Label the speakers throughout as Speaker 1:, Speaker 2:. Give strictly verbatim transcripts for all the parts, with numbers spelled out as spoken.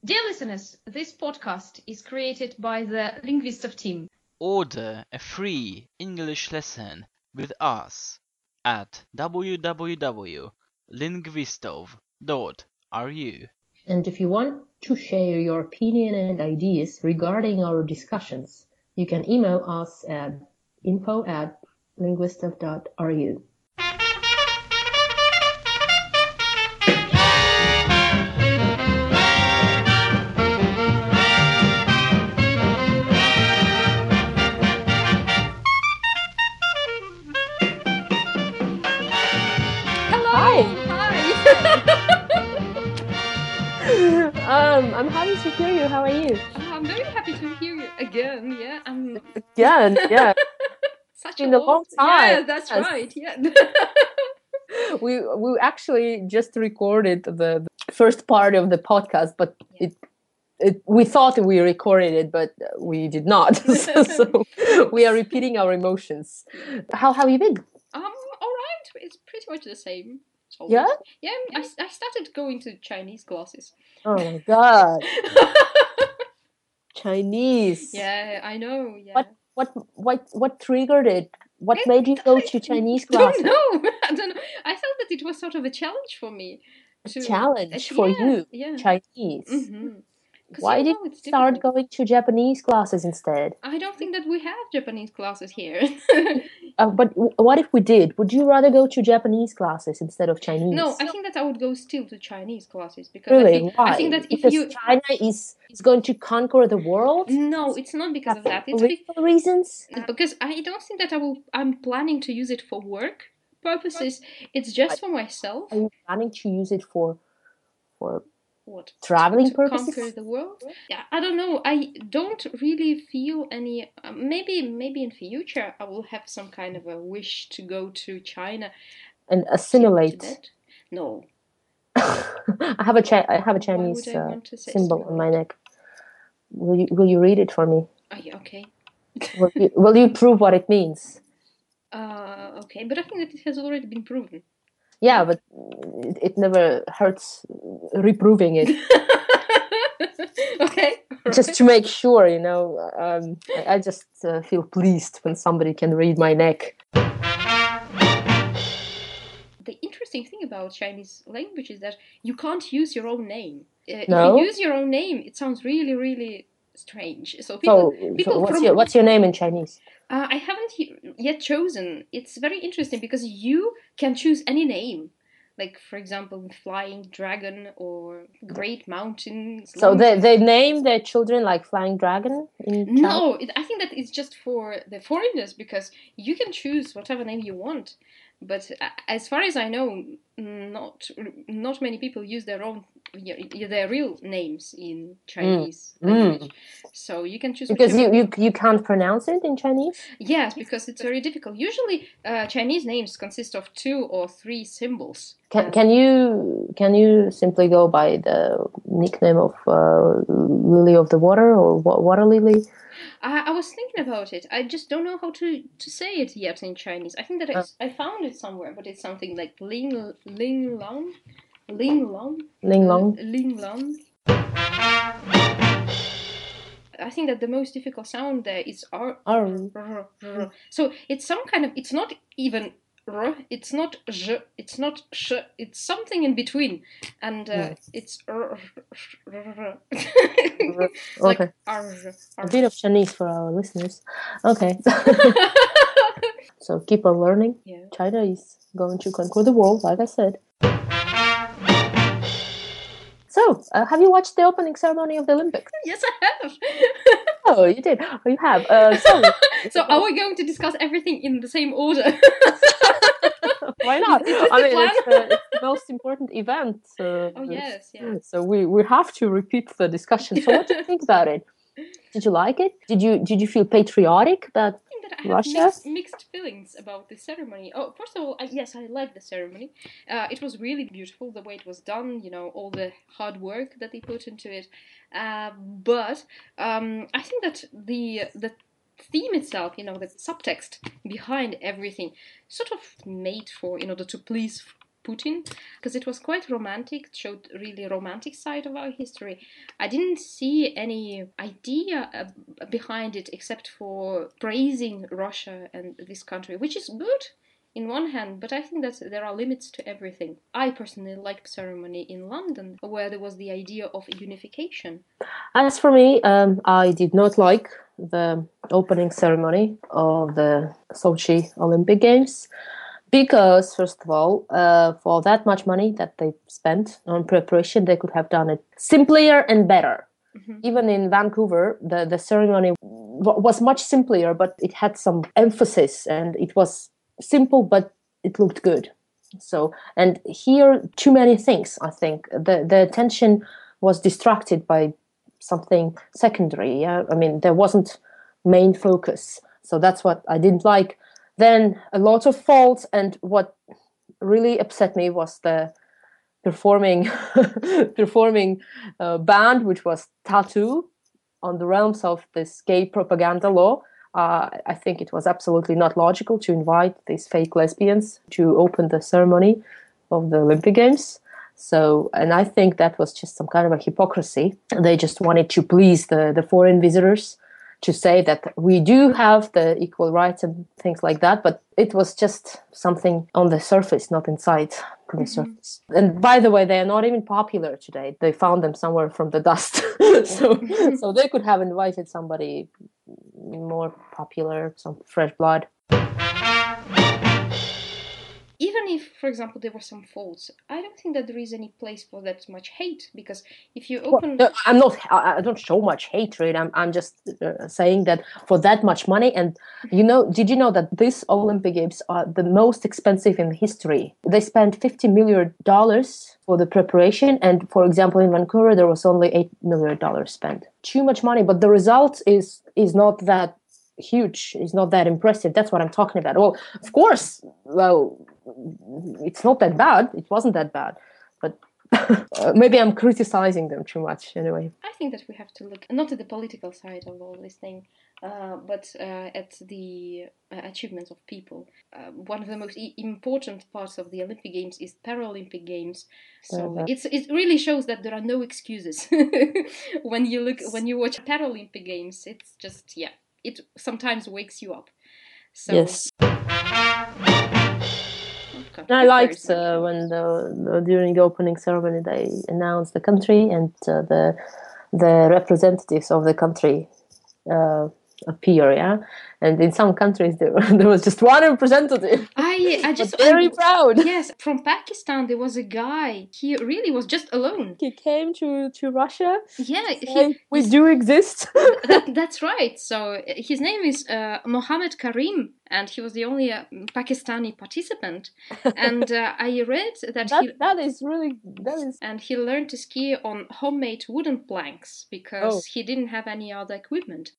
Speaker 1: Dear listeners, this podcast is created by the Linguistov team.
Speaker 2: Order a free English lesson with us at w w w dot linguistov dot r u.
Speaker 3: And if you want to share your opinion and ideas regarding our discussions, you can email us at info at linguistov dot r u. Um, I'm happy to hear you. How are you?
Speaker 1: I'm very happy to hear you again. Yeah, I'm
Speaker 3: Again, yeah.
Speaker 1: such
Speaker 3: been a long time.
Speaker 1: Yeah, that's
Speaker 3: Yes.
Speaker 1: right. Yeah.
Speaker 3: we we actually just recorded the, the first part of the podcast, but it it we thought we recorded it, but we did not. so, so we are repeating our emotions. How have you been?
Speaker 1: Um, all right. It's pretty much the same. as always.
Speaker 3: Yeah?
Speaker 1: Yeah. I, I started going to Chinese classes.
Speaker 3: Oh my god, Chinese.
Speaker 1: Yeah, I know. Yeah.
Speaker 3: What what what what triggered it? What
Speaker 1: It-
Speaker 3: made you go to Chinese
Speaker 1: I don't
Speaker 3: classes?
Speaker 1: know. I don't know. I felt that it was sort of a challenge for me.
Speaker 3: A
Speaker 1: to-
Speaker 3: challenge
Speaker 1: uh,
Speaker 3: for
Speaker 1: yeah,
Speaker 3: you,
Speaker 1: Yeah.
Speaker 3: Chinese.
Speaker 1: Mm-hmm. 'Cause
Speaker 3: Why
Speaker 1: you
Speaker 3: did
Speaker 1: know
Speaker 3: you
Speaker 1: it's
Speaker 3: start
Speaker 1: difficult.
Speaker 3: going to Japanese classes instead?
Speaker 1: I don't think that we have Japanese classes here.
Speaker 3: Uh, but w- what if we did? Would you rather go to Japanese classes instead of Chinese?
Speaker 1: No, I think that I would go still to Chinese classes because I
Speaker 3: Really?
Speaker 1: think,
Speaker 3: Why?
Speaker 1: I think that if
Speaker 3: because
Speaker 1: you
Speaker 3: China is is going to conquer the world.
Speaker 1: no, it's not because of that. It's be-
Speaker 3: Political reasons.
Speaker 1: because I don't think that I will. I'm planning to use it for work purposes. It's just for myself.
Speaker 3: Are you planning to use it for for
Speaker 1: What?
Speaker 3: traveling
Speaker 1: to
Speaker 3: purposes?
Speaker 1: conquer the world? Yeah, I don't know. I don't really feel any. Uh, maybe, maybe in future I will have some kind of a wish to go to China.
Speaker 3: and
Speaker 1: to
Speaker 3: assimilate?
Speaker 1: Tibet. No.
Speaker 3: I have a Chi- I have a
Speaker 1: Why
Speaker 3: Chinese
Speaker 1: would I
Speaker 3: uh,
Speaker 1: want to say
Speaker 3: symbol on my
Speaker 1: assimilate?
Speaker 3: neck. Will you will you read it for me?
Speaker 1: Oh, yeah, okay.
Speaker 3: Will you, will you prove what it means?
Speaker 1: Uh, okay, but I think that it has already been proven.
Speaker 3: Yeah, but it, it never hurts reproving it.
Speaker 1: Okay.
Speaker 3: Just to make sure, you know, um, I, I just uh, feel pleased when somebody can read my neck.
Speaker 1: The interesting thing about Chinese language is that you can't use your own name. Uh,
Speaker 3: No?
Speaker 1: If you use your own name, it sounds really, really strange. So people,
Speaker 3: So,
Speaker 1: people
Speaker 3: so what's
Speaker 1: from
Speaker 3: your what's your name in Chinese?
Speaker 1: uh, I haven't he- yet chosen. It's very interesting because you can choose any name. Like, for example, Flying Dragon or Great Mountain.
Speaker 3: So they they name their children like Flying Dragon in China?
Speaker 1: No, it, I think that it's just for the foreigners because you can choose whatever name you want. But uh, as far as I know, not not many people use their own yeah, their real names in Chinese
Speaker 3: Mm.
Speaker 1: language. So you can choose
Speaker 3: Because
Speaker 1: whichever-
Speaker 3: you, you you can't pronounce it in Chinese.
Speaker 1: Yes, because it's very difficult. Usually, uh, Chinese names consist of two or three symbols.
Speaker 3: Can
Speaker 1: Uh,
Speaker 3: can you can you simply go by the nickname of uh, Lily of the Water or wa- Water Lily?
Speaker 1: I, I was thinking about it. I just don't know how to, to say it yet in Chinese. I think that I, I found it somewhere, but it's something like Ling Ling Long, Ling Long,
Speaker 3: Ling Long.
Speaker 1: Ling Long. I think that the most difficult sound there is R.
Speaker 3: R.
Speaker 1: R, R. So it's some kind of. It's not even R. It's not J. It's not Sh. It's something in between, and uh,
Speaker 3: Hmm.
Speaker 1: it's R. R, R. It's like
Speaker 3: Okay.
Speaker 1: R,
Speaker 3: A
Speaker 1: R.
Speaker 3: bit of Chinese for our listeners. Okay. So keep on learning.
Speaker 1: Yeah.
Speaker 3: China is going to conquer the world, like I said. So, uh, have you watched the opening ceremony of the Olympics?
Speaker 1: Yes, I have.
Speaker 3: Oh, you did. Oh, you have. Uh, so,
Speaker 1: So are we going to discuss everything in the same order?
Speaker 3: why not?
Speaker 1: Is this
Speaker 3: I
Speaker 1: the
Speaker 3: mean,
Speaker 1: plan?
Speaker 3: it's, the, it's the most important event. Uh,
Speaker 1: Oh yes, yes.
Speaker 3: So we, we have to repeat the discussion. So, what do you think about it? Did you like it? Did you did you feel patriotic that
Speaker 1: I think that I have
Speaker 3: Russia?
Speaker 1: mixed, mixed feelings about the ceremony. Oh, first of all, I, yes, I liked the ceremony. Uh, it was really beautiful the way it was done. You know, all the hard work that they put into it. Uh, but um, I think that the the theme itself, you know, the subtext behind everything, sort of made for in order to please Putin, because it was quite romantic. It showed really romantic side of our history. I didn't see any idea uh, behind it except for praising Russia and this country, which is good in one hand, but I think that there are limits to everything. I personally liked the ceremony in London, where there was the idea of unification.
Speaker 3: As for me, um, I did not like the opening ceremony of the Sochi Olympic Games because, first of all, uh, for that much money that they spent on preparation, they could have done it simpler and better. Mm-hmm. Even in Vancouver, the, the ceremony w- was much simpler, but it had some emphasis and it was simple, but it looked good. So, and here, too many things, I think. The, the attention was distracted by something secondary. Yeah, I mean, there wasn't main focus. So that's what I didn't like. Then a lot of faults, and what really upset me was the performing performing uh, band, which was Tattoo, on the realms of this gay propaganda law. Uh, I think it was absolutely not logical to invite these fake lesbians to open the ceremony of the Olympic Games. So, and I think that was just some kind of a hypocrisy. They just wanted to please the, the foreign visitors, to say that we do have the equal rights and things like that, but it was just something on the surface, not inside the mm-hmm. surface. And by the way, they are not even popular today. They found them somewhere from the dust. so, so they could have invited somebody more popular, some fresh blood.
Speaker 1: Even if, for example, there were some faults, I don't think that there is any place for that much hate, because if you open...
Speaker 3: Well, I'm not, I don't show much hatred. I'm, I'm just uh, saying that for that much money, and you know, did you know that these Olympic Games are the most expensive in history? They spent fifty million dollars for the preparation, and for example, in Vancouver, there was only eight million dollars spent. Too much money, but the result is is not that huge, is not that impressive. That's what I'm talking about. Well, of course, well, it's not that bad. It wasn't that bad, but uh, maybe I'm criticizing them too much anyway.
Speaker 1: I think that we have to look not at the political side of all this thing, uh, but uh, at the uh, achievements of people. Uh, one of the most e- important parts of the Olympic Games is Paralympic Games. So yeah, it's it really shows that there are no excuses when you look when you watch Paralympic Games. It's just yeah, it sometimes wakes you up. So,
Speaker 3: yes. I liked uh, when the, the during the opening ceremony they announced the country, and uh, the the representatives of the country uh, appear. Yeah, and in some countries there, there was just one representative.
Speaker 1: I I just
Speaker 3: very
Speaker 1: I,
Speaker 3: proud.
Speaker 1: Yes, from Pakistan there was a guy. He really was just alone.
Speaker 3: He came to, to Russia.
Speaker 1: Yeah,
Speaker 3: he, we do exist.
Speaker 1: that, that's right. So his name is uh, Mohammed Karim, and he was the only uh, Pakistani participant. And uh, I read that,
Speaker 3: that
Speaker 1: he
Speaker 3: that is really that is.
Speaker 1: And he learned to ski on homemade wooden planks because oh. he didn't have any other equipment.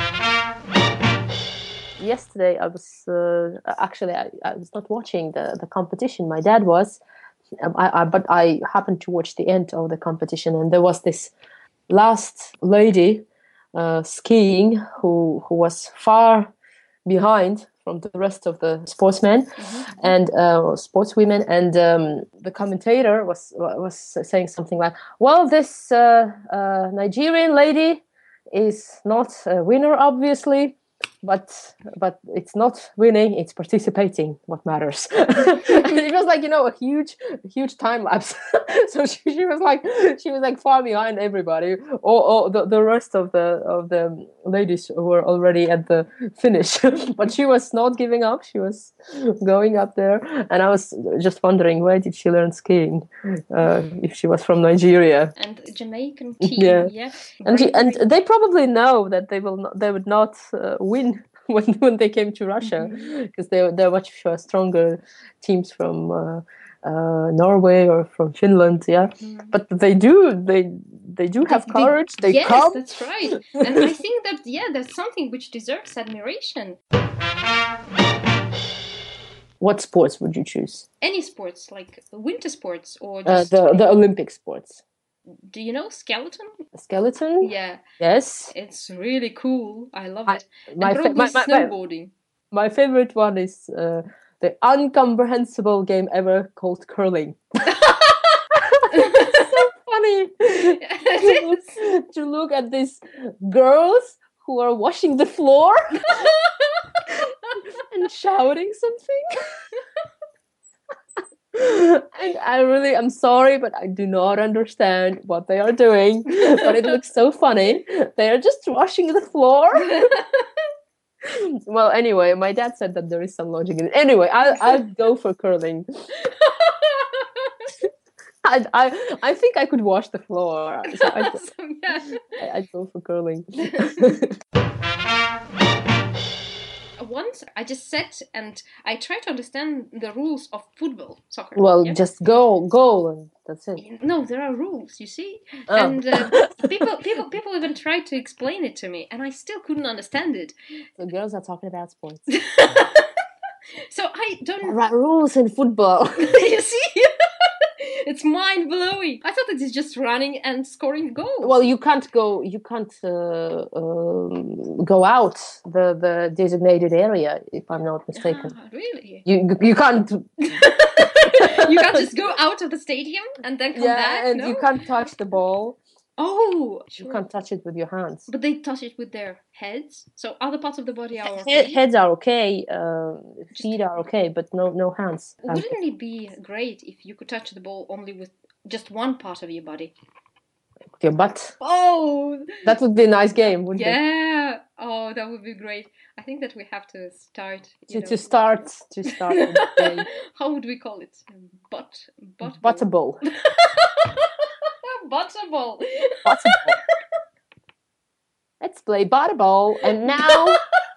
Speaker 3: Yesterday, I was uh, actually I, I was not watching the, the competition. My dad was, I, I, but I happened to watch the end of the competition, and there was this last lady uh, skiing who who was far behind from the rest of the sportsmen mm-hmm. and uh, sportswomen, and um, the commentator was was saying something like, "Well, this uh, uh, Nigerian lady is not a winner, obviously." But but it's not winning; it's participating. What matters? And it was like, you know, a huge, huge time lapse. So she, she was like, she was like far behind everybody. Or, or the, the rest of the of the ladies were already at the finish. But she was not giving up. She was going up there, and I was just wondering, where did she learn skiing? Uh, if she was from Nigeria
Speaker 1: and Jamaican team,
Speaker 3: yeah,
Speaker 1: yeah.
Speaker 3: and she, and they probably know that they will not, they would not uh, win when when they came to Russia, because mm-hmm. they they're much uh, stronger teams from uh, uh, Norway or from Finland, yeah. Mm-hmm. But they do they they do have they, courage. They,
Speaker 1: yes,
Speaker 3: come.
Speaker 1: That's right. And I think that yeah, that's something which deserves admiration.
Speaker 3: What sports would you choose?
Speaker 1: Any sports, like winter sports or just
Speaker 3: uh, the the Olympic sports.
Speaker 1: Do you know skeleton?
Speaker 3: Skeleton?
Speaker 1: Yeah.
Speaker 3: Yes.
Speaker 1: It's really cool. I love
Speaker 3: I,
Speaker 1: it.
Speaker 3: My,
Speaker 1: and probably
Speaker 3: fa- my, my,
Speaker 1: snowboarding.
Speaker 3: My favorite one is uh, the incomprehensible game ever called curling. It's so funny to look, to look at these girls who are washing the floor and shouting something. And I really, I'm sorry, but I do not understand what they are doing. But it looks so funny. They are just washing the floor. Well, anyway, my dad said that there is some logic in it. Anyway, I'll, I'll go for curling. I, I, I think I could wash the floor. So I'd,
Speaker 1: So, yeah.
Speaker 3: I- I'd go for curling.
Speaker 1: Once I just sat and I tried to understand the rules of football, soccer.
Speaker 3: Well,
Speaker 1: yeah?
Speaker 3: just go, goal, and that's it.
Speaker 1: No, there are rules, you see,
Speaker 3: Oh.
Speaker 1: and uh, people, people, people even tried to explain it to me, and I still couldn't understand it.
Speaker 3: The girls are talking about sports.
Speaker 1: So I don't.
Speaker 3: There are rules in football.
Speaker 1: You see, it's mind blowing. I thought it is just running and scoring goals.
Speaker 3: Well, you can't go. You can't uh, um, go out the, the designated area, if I'm not mistaken.
Speaker 1: Ah, really?
Speaker 3: You you can't.
Speaker 1: You can't just go out of the stadium and then come
Speaker 3: Yeah,
Speaker 1: back.
Speaker 3: and
Speaker 1: no?
Speaker 3: you can't touch the ball.
Speaker 1: Oh,
Speaker 3: You
Speaker 1: sure.
Speaker 3: can't touch it with your hands.
Speaker 1: But they touch it with their heads, so other parts of the body are
Speaker 3: He-
Speaker 1: okay.
Speaker 3: heads are okay. Uh, feet are okay, but no no hands.
Speaker 1: Wouldn't it be great if you could touch the ball only with just one part of your body?
Speaker 3: Your butt.
Speaker 1: Oh,
Speaker 3: That would be a nice game, wouldn't it?
Speaker 1: yeah. Oh, that would be great. I think that we have to start. You
Speaker 3: To,
Speaker 1: know.
Speaker 3: to start to start with the game.
Speaker 1: How would we call it? Butt, butt,
Speaker 3: Butterball.
Speaker 1: Butterball.
Speaker 3: Butterball. Let's play butterball, and now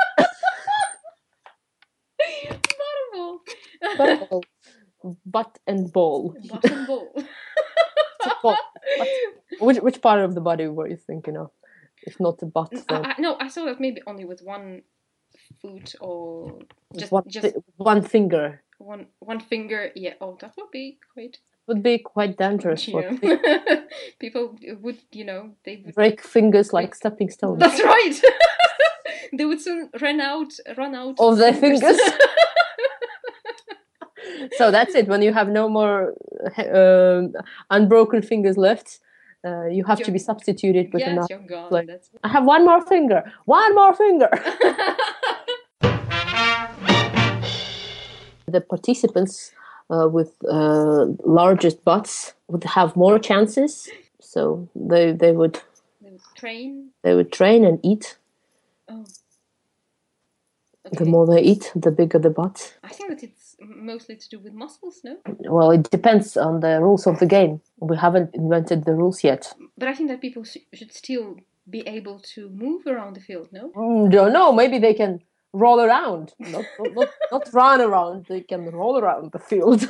Speaker 1: Butterball.
Speaker 3: butterball. Butt and ball.
Speaker 1: Butterball.
Speaker 3: Ball. Which which part of the body were you thinking of? If not the butt,
Speaker 1: I,
Speaker 3: then
Speaker 1: I, no, I saw that maybe only with one foot or just
Speaker 3: one,
Speaker 1: just
Speaker 3: fi- one finger
Speaker 1: one one finger. Yeah. Oh, that would be quite.
Speaker 3: would be quite dangerous. For
Speaker 1: Yeah. People would, you know, they would.
Speaker 3: break fingers like stepping stones.
Speaker 1: That's right. They would soon run out, run out
Speaker 3: Of their fingers. So that's it. When you have no more um, unbroken fingers left, uh, you have to
Speaker 1: You're-
Speaker 3: be substituted with
Speaker 1: yes,
Speaker 3: another.
Speaker 1: you're gone.
Speaker 3: like-
Speaker 1: That's.
Speaker 3: I have one more finger. One more finger. The participants uh, with uh, largest butts would have more chances. So they they would
Speaker 1: They would train.
Speaker 3: they would train and eat.
Speaker 1: Oh.
Speaker 3: The
Speaker 1: Okay.
Speaker 3: more they eat, the bigger the butt.
Speaker 1: I think that it's mostly to do with muscles, no?
Speaker 3: Well, it depends on the rules of the game. We haven't invented the rules yet.
Speaker 1: But I think that people sh- should still be able to move around the field, no?
Speaker 3: Mm, don't know. Maybe they can roll around, not not, not, not run around. They can roll around the field.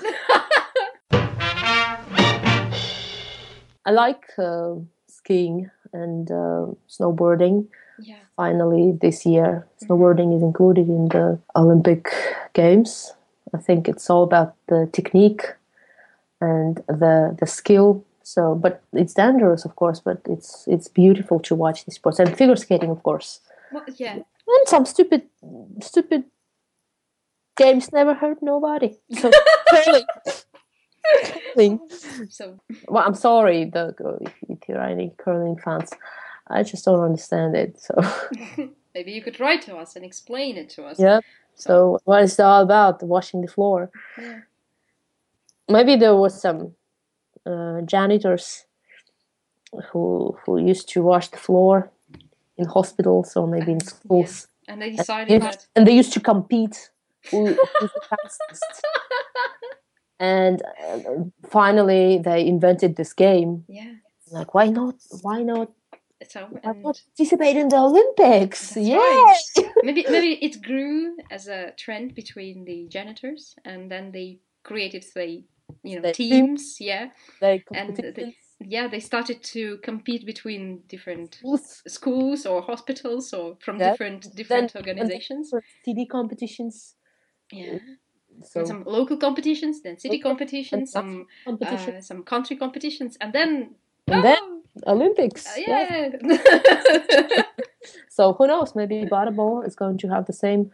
Speaker 3: I like uh, skiing and uh, snowboarding.
Speaker 1: Yeah.
Speaker 3: Finally, this year, snowboarding is included in the Olympic Games. I think it's all about the technique and the the skill. So, but it's dangerous, of course. But it's it's beautiful to watch these sports, and figure skating, of course.
Speaker 1: Well, yeah.
Speaker 3: And some stupid, stupid games never hurt nobody. So, curling. Curling.
Speaker 1: So
Speaker 3: Well, I'm sorry, the if, if you're any curling fans, I just don't understand it. So,
Speaker 1: maybe you could write to us and explain it to us.
Speaker 3: yeah. So, what is it all about? Washing the floor.
Speaker 1: Yeah.
Speaker 3: Maybe there was some uh, janitors who who used to wash the floor in hospitals or maybe in schools.
Speaker 1: And they
Speaker 3: And,
Speaker 1: decided
Speaker 3: they-
Speaker 1: that.
Speaker 3: and they used to compete who who's the fastest. And uh, finally, they invented this game.
Speaker 1: Yeah.
Speaker 3: Like, why not? Why not?
Speaker 1: So
Speaker 3: Why
Speaker 1: and
Speaker 3: not participate in the Olympics?
Speaker 1: That's
Speaker 3: Yeah.
Speaker 1: right. maybe maybe it grew as a trend between the janitors, and then they created say you know
Speaker 3: The
Speaker 1: teams. Yeah.
Speaker 3: They
Speaker 1: And the-
Speaker 3: competitions.
Speaker 1: Yeah, they started to compete between different
Speaker 3: Schools,
Speaker 1: schools or hospitals or from
Speaker 3: Yeah.
Speaker 1: different different
Speaker 3: Then-
Speaker 1: organizations.
Speaker 3: T V competitions.
Speaker 1: Yeah.
Speaker 3: So
Speaker 1: And some local competitions, then city
Speaker 3: Local
Speaker 1: competitions,
Speaker 3: and
Speaker 1: some
Speaker 3: competition.
Speaker 1: uh, some country competitions, and then
Speaker 3: And then
Speaker 1: oh,
Speaker 3: Olympics.
Speaker 1: uh,
Speaker 3: Yeah.
Speaker 1: yeah.
Speaker 3: So who knows? Maybe Butterball is going to have the same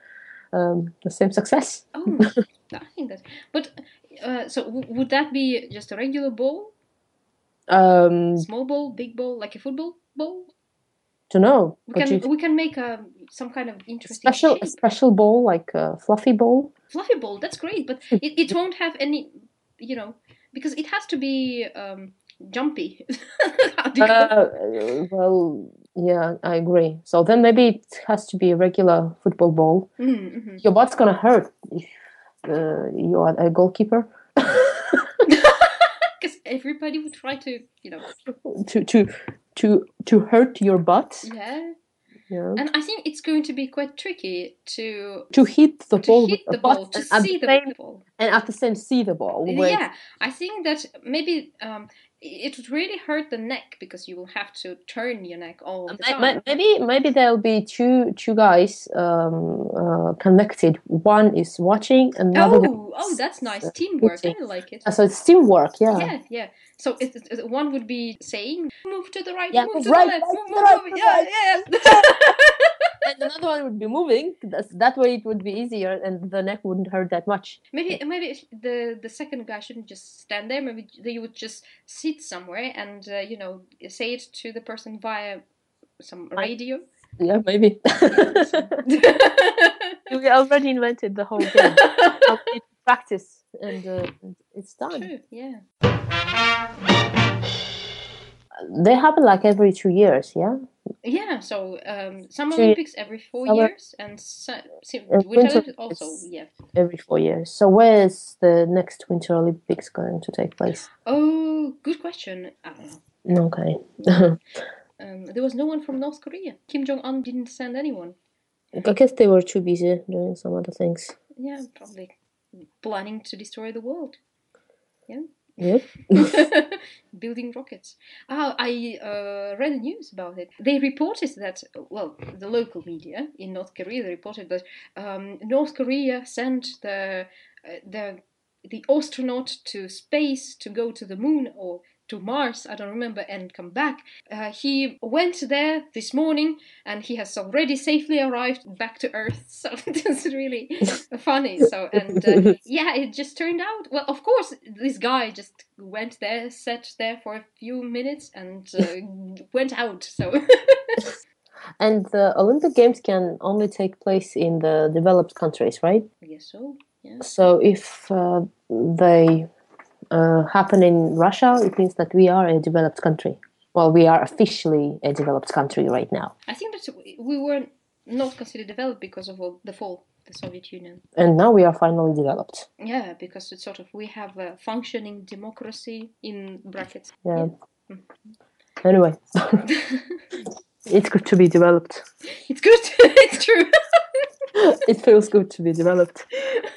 Speaker 3: um, the same success.
Speaker 1: Oh, I think that. But uh, so w- would that be just a regular ball,
Speaker 3: Um,
Speaker 1: small ball, big ball, like a football ball?
Speaker 3: don't know.
Speaker 1: We
Speaker 3: What
Speaker 1: can
Speaker 3: you
Speaker 1: we can make a some kind of interesting
Speaker 3: special a
Speaker 1: shape.
Speaker 3: special ball, like a fluffy ball.
Speaker 1: Fluffy ball, that's great, but it, it won't have any, you know, because it has to be um, jumpy. How do you call it?
Speaker 3: Uh, well, yeah, I agree. So then maybe it has to be a regular football ball.
Speaker 1: Mm, mhm.
Speaker 3: Your butt's gonna hurt if uh, you are a goalkeeper.
Speaker 1: Because everybody would try to, you know,
Speaker 3: to to to to hurt your butt.
Speaker 1: yeah.
Speaker 3: Yeah.
Speaker 1: And I think it's going to be quite tricky to
Speaker 3: To hit the
Speaker 1: to
Speaker 3: ball
Speaker 1: hit
Speaker 3: with
Speaker 1: the
Speaker 3: the
Speaker 1: ball,
Speaker 3: butt
Speaker 1: to
Speaker 3: and at
Speaker 1: see
Speaker 3: the
Speaker 1: the
Speaker 3: same
Speaker 1: ball.
Speaker 3: and at the same see the ball. where
Speaker 1: Yeah, I think that maybe um, it would really hurt the neck because you will have to turn your neck all the
Speaker 3: Ma-
Speaker 1: time.
Speaker 3: ma- Maybe maybe there'll be two two guys um, uh, connected. One is watching, another one
Speaker 1: Oh, oh,
Speaker 3: is,
Speaker 1: that's nice
Speaker 3: uh,
Speaker 1: teamwork.
Speaker 3: hitting.
Speaker 1: I like it.
Speaker 3: Uh, So it's teamwork, yeah.
Speaker 1: Yeah, yeah. So it, it, one would be saying, "Move to the right,
Speaker 3: Yeah,
Speaker 1: move
Speaker 3: move
Speaker 1: to
Speaker 3: right,
Speaker 1: the left,
Speaker 3: right,
Speaker 1: move,
Speaker 3: to the
Speaker 1: move,
Speaker 3: right,
Speaker 1: move."
Speaker 3: to the
Speaker 1: Yeah,
Speaker 3: right,
Speaker 1: yeah.
Speaker 3: And another one would be moving. That's, that way it would be easier, and the neck wouldn't hurt that much.
Speaker 1: Maybe maybe the the second guy shouldn't just stand there. Maybe they would just sit somewhere and uh, you know say it to the person via some radio.
Speaker 3: Yeah, maybe. We already invented the whole game. Now we need to practice, and uh, it's done.
Speaker 1: True. Yeah.
Speaker 3: They happen like every two years, yeah.
Speaker 1: Yeah. So um, some
Speaker 3: Two
Speaker 1: Olympics every four
Speaker 3: summer-
Speaker 1: years, and so, so,
Speaker 3: Uh,
Speaker 1: Winter
Speaker 3: Winter
Speaker 1: Olympics also.
Speaker 3: Olympics.
Speaker 1: Yeah.
Speaker 3: Every four years. So where is the next Winter Olympics going to take place?
Speaker 1: Oh, good question. I don't know.
Speaker 3: Okay.
Speaker 1: Um, there was no one from North Korea. Kim Jong Un didn't send anyone.
Speaker 3: I guess they were too busy doing some other things.
Speaker 1: Yeah, probably planning to destroy the world. Yeah.
Speaker 3: Yep.
Speaker 1: Building rockets. Oh, I uh, read the news about it. They reported that, well, the local media in North Korea they reported that um, North Korea sent the uh, the the astronaut to space to go to the moon or to Mars, I don't remember, and come back. Uh, he went there this morning and he has already safely arrived back to Earth. So it's really funny. So, and uh, yeah, it just turned out, well, of course, this guy just went there, sat there for a few minutes and uh, went out. So,
Speaker 3: And the Olympic Games can only take place in the developed countries, right?
Speaker 1: I guess so. Yeah.
Speaker 3: So if uh, they uh, happen in Russia, it means that we are a developed country. Well, we are officially a developed country right now.
Speaker 1: I think that we were not considered developed because of the fall of the Soviet Union.
Speaker 3: And now we are finally developed.
Speaker 1: Yeah, because it's sort of we have a functioning democracy in brackets.
Speaker 3: Yeah.
Speaker 1: Yeah.
Speaker 3: Anyway, it's good to be developed.
Speaker 1: It's good. It's true.
Speaker 3: It feels good to be developed.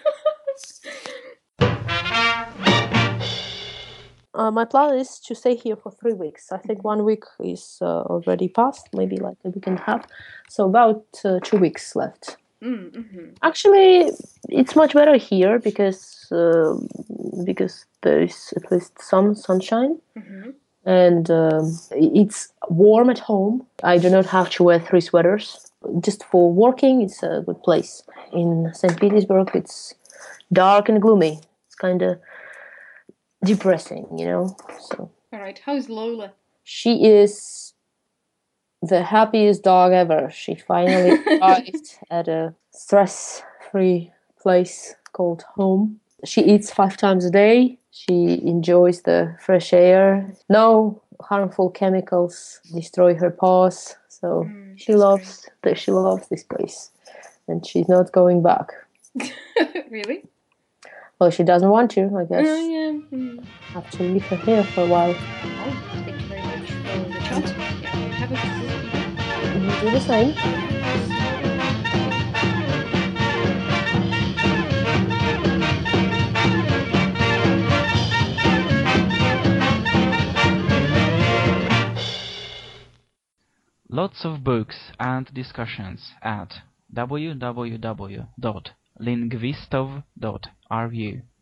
Speaker 3: Uh, my plan is to stay here for three weeks. I think one week is uh, already past, maybe like a week and a half. So about uh, two weeks left.
Speaker 1: Mm-hmm.
Speaker 3: Actually, it's much better here because uh, because there is at least some sunshine.
Speaker 1: Mm-hmm.
Speaker 3: And um, it's warm at home. I do not have to wear three sweaters. Just for working, it's a good place. In Saint Petersburg, it's dark and gloomy. It's kind of depressing, you know. So
Speaker 1: All right. How's Lola?
Speaker 3: she is the happiest dog ever. She finally arrived at a stress-free place called home. She eats five times a day. She enjoys the fresh air. No harmful chemicals destroy her paws. So
Speaker 1: Mm,
Speaker 3: she
Speaker 1: that's
Speaker 3: loves that. She loves this place, and she's not going back.
Speaker 1: Really?
Speaker 3: Well, she doesn't want to. I guess
Speaker 1: Oh, yeah. Mm.
Speaker 3: have to leave her here for a while.
Speaker 1: Oh, thank you very much for the chat. Yeah, have a good evening.
Speaker 3: You do the same.
Speaker 2: Lots of books and discussions at w w w dot lingvistov dot r u.